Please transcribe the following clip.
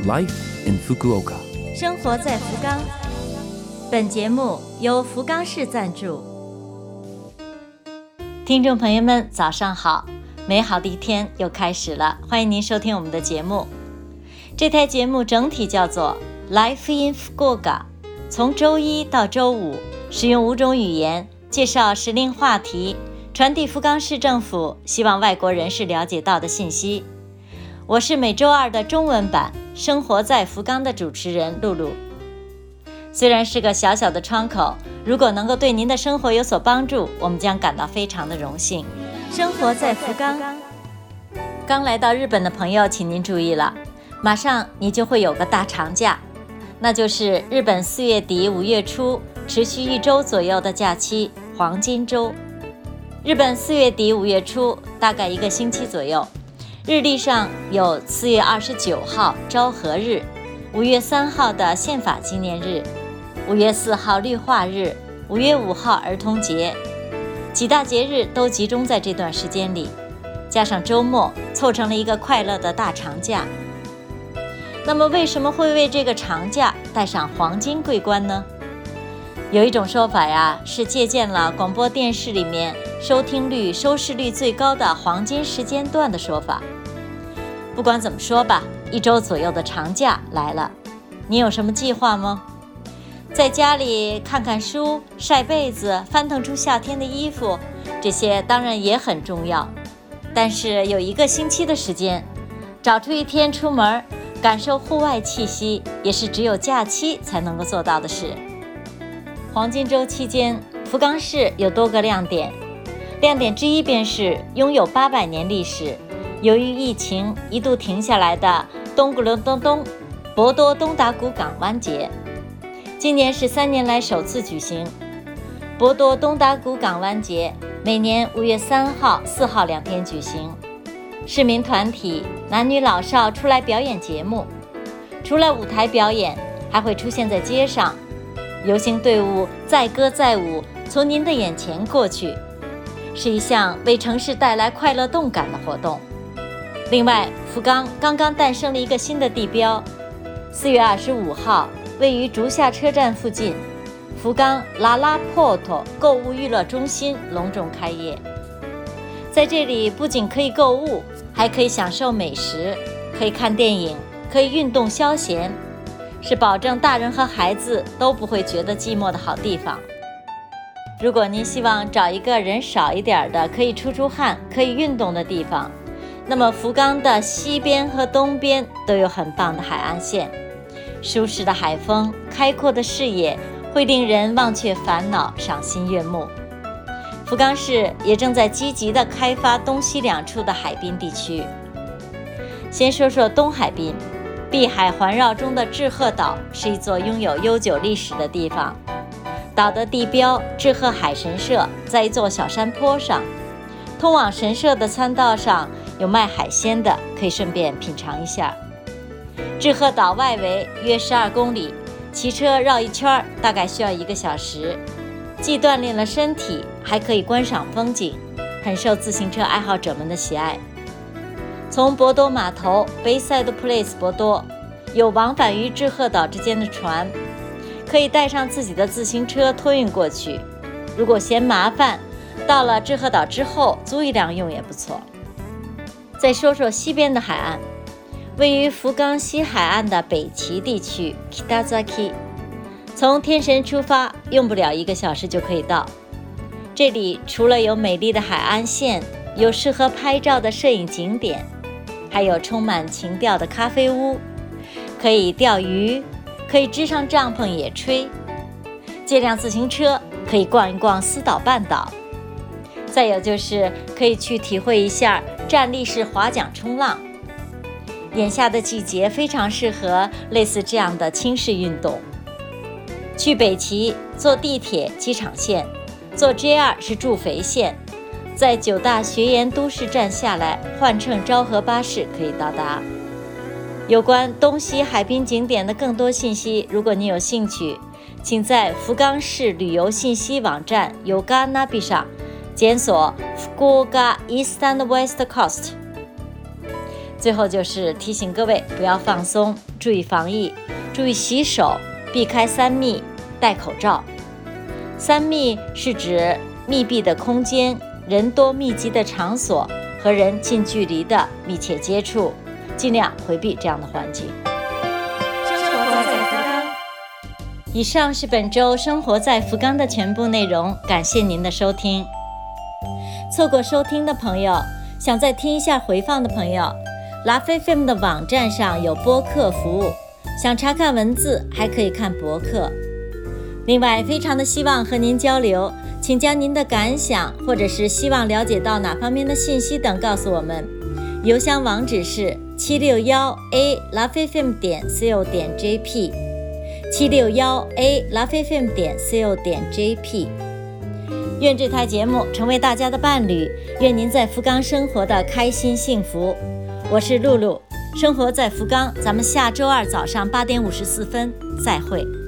Life in Fukuoka， 生活在福冈。本节目由福冈市赞助。听众朋友们，早上好！美好的一天又开始了，欢迎您收听我们的节目。这台节目整体叫做 Life in Fukuoka， 从周一到周五，使用5种语言介绍时令话题，传递福冈市政府希望外国人士了解到的信息。我是每周二的中文版生活在福冈的主持人露露。虽然是个小小的窗口，如果能够对您的生活有所帮助，我们将感到非常的荣幸。生活在福冈。刚来到日本的朋友请您注意了，马上你就会有个大长假，那就是日本4月底5月初持续1周左右的假期，黄金周。日本4月底5月初大概1个星期左右，日历上有4月29号昭和日，5月3号的宪法纪念日，5月4号绿化日，5月5号儿童节，几大节日都集中在这段时间里，加上周末，凑成了一个快乐的大长假。那么为什么会为这个长假带上黄金桂冠呢？有一种说法呀，是借鉴了广播电视里面收听率、收视率最高的黄金时间段的说法。不管怎么说吧，1周左右的长假来了，你有什么计划吗？在家里看看书、晒被子、翻腾出夏天的衣服，这些当然也很重要。但是有1个星期的时间，找出1天出门，感受户外气息，也是只有假期才能够做到的事。黄金周期间，福冈市有多个亮点。亮点之一便是拥有800年历史，由于疫情一度停下来的东古隆东东博多东达谷港湾节，今年是3年来首次举行。博多东达谷港湾节每年5月3号、4号2天举行，市民团体男女老少出来表演节目，除了舞台表演，还会出现在街上，游行队伍载歌载舞从您的眼前过去，是一项为城市带来快乐动感的活动。另外，福冈刚刚诞生了一个新的地标，4月25号位于竹下车站附近，福冈拉拉ポート购物娱乐中心隆重开业。在这里不仅可以购物，还可以享受美食，可以看电影，可以运动消闲，是保证大人和孩子都不会觉得寂寞的好地方。如果您希望找一个人少一点的，可以出出汗、可以运动的地方，那么福冈的西边和东边都有很棒的海岸线，舒适的海风、开阔的视野会令人忘却烦恼、赏心悦目。福冈市也正在积极地开发东西2处的海滨地区。先说说东海滨，碧海环绕中的志贺岛是一座拥有悠久历史的地方。岛的地标志贺海神社在一座小山坡上，通往神社的参道上有卖海鲜的，可以顺便品尝一下。志贺岛外围约12公里，骑车绕一圈大概需要1个小时，既锻炼了身体，还可以观赏风景，很受自行车爱好者们的喜爱。从博多码头 Bayside Place 博多有往返于志贺岛之间的船，可以带上自己的自行车托运过去。如果嫌麻烦，到了志贺岛之后租一辆用也不错。再说说西边的海岸，位于福冈西海岸的北岐地区 Kitazaki， 从天神出发用不了1个小时就可以到。这里除了有美丽的海岸线，有适合拍照的摄影景点，还有充满情调的咖啡屋，可以钓鱼，可以支上帐篷野炊，借辆自行车可以逛一逛四岛半岛，再有就是可以去体会一下站立式划桨冲浪。眼下的季节非常适合类似这样的轻式运动。去北岐坐地铁机场线，坐 JR 是筑肥线，在9大学研都市站下来，换乘昭和巴士可以到达。有关东西海滨景点的更多信息，如果你有兴趣，请在福冈市旅游信息网站 Yoganabi 上检索 Fukuoka East and West Coast。 最后就是提醒各位不要放松，注意防疫，注意洗手，避开3密，戴口罩。3密是指密闭的空间、人多密集的场所和人近距离的密切接触，尽量回避这样的环境。生活在福冈。以上是本周生活在福冈的全部内容，感谢您的收听。错过收听的朋友，想再听一下回放的朋友，LoveFM 的网站上有播客服务，想查看文字还可以看博客。另外，非常的希望和您交流，请将您的感想或者是希望了解到哪方面的信息等告诉我们。邮箱网址是761a@lovefm.co.jp 761a@lovefm.co.jp。愿这台节目成为大家的伴侣，愿您在福冈生活的开心幸福。我是露露，生活在福冈，咱们下周2早上8点54分再会。